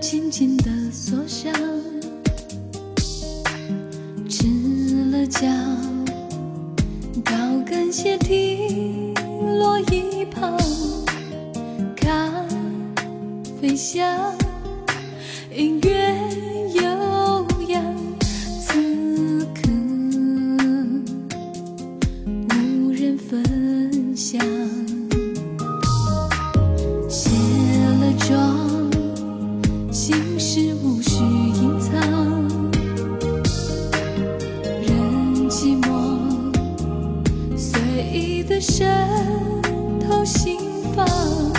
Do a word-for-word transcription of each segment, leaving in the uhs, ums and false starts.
轻轻地锁上，赤了脚，高跟鞋踢落一旁，咖啡香，音乐悠扬，此刻无人分享。卸了妆，心事无需隐藏，任寂寞随意地渗透心房，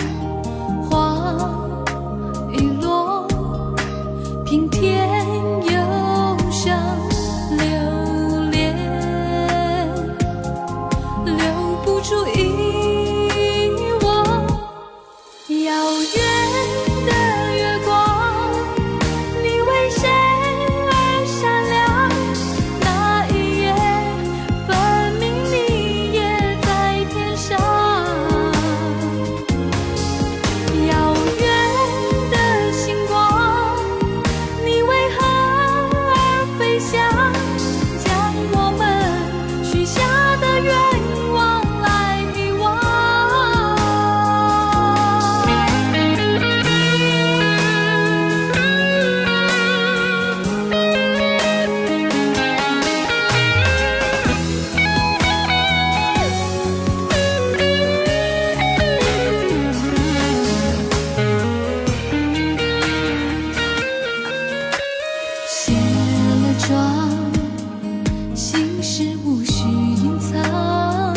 花一落，平添忧伤，留恋留不住遗忘。遥远的月光，你为谁而闪亮？那一夜，分明你也在天上。遥远的星光，你为何而飞翔？将我们许下的愿望来遗忘。卸了妆，心事无需隐藏，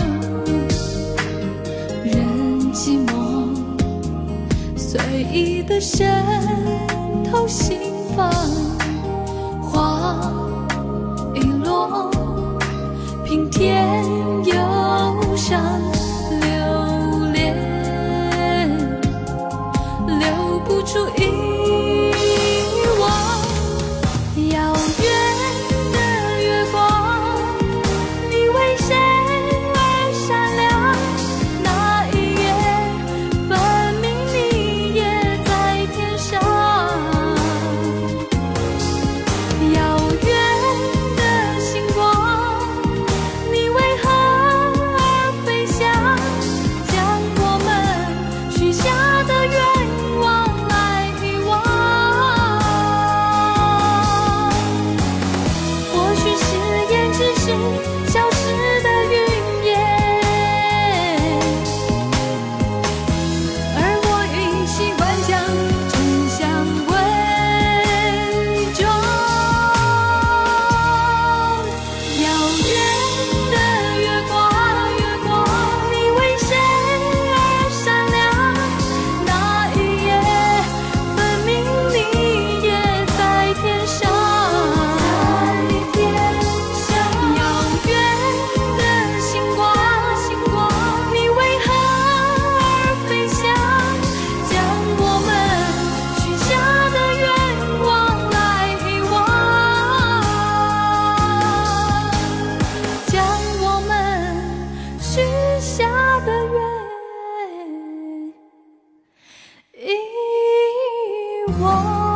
任寂寞随意地渗透心房，花一落，平添忧伤，留恋留不住遗忘。遥远的月光，你为谁而闪亮？那一夜，分明你也在天上。遥远的星光，你为何而飞翔？将我们许下的愿望来遗忘。或许誓言只是消失的云烟，而我已习惯将真相伪装。遥远的月光，月光，你为谁而闪亮？那一夜，分明你也在天上。遥远的星光，星光，你为何而飞翔？将我们许下的愿望来遗忘，将我们许下的愿遗忘。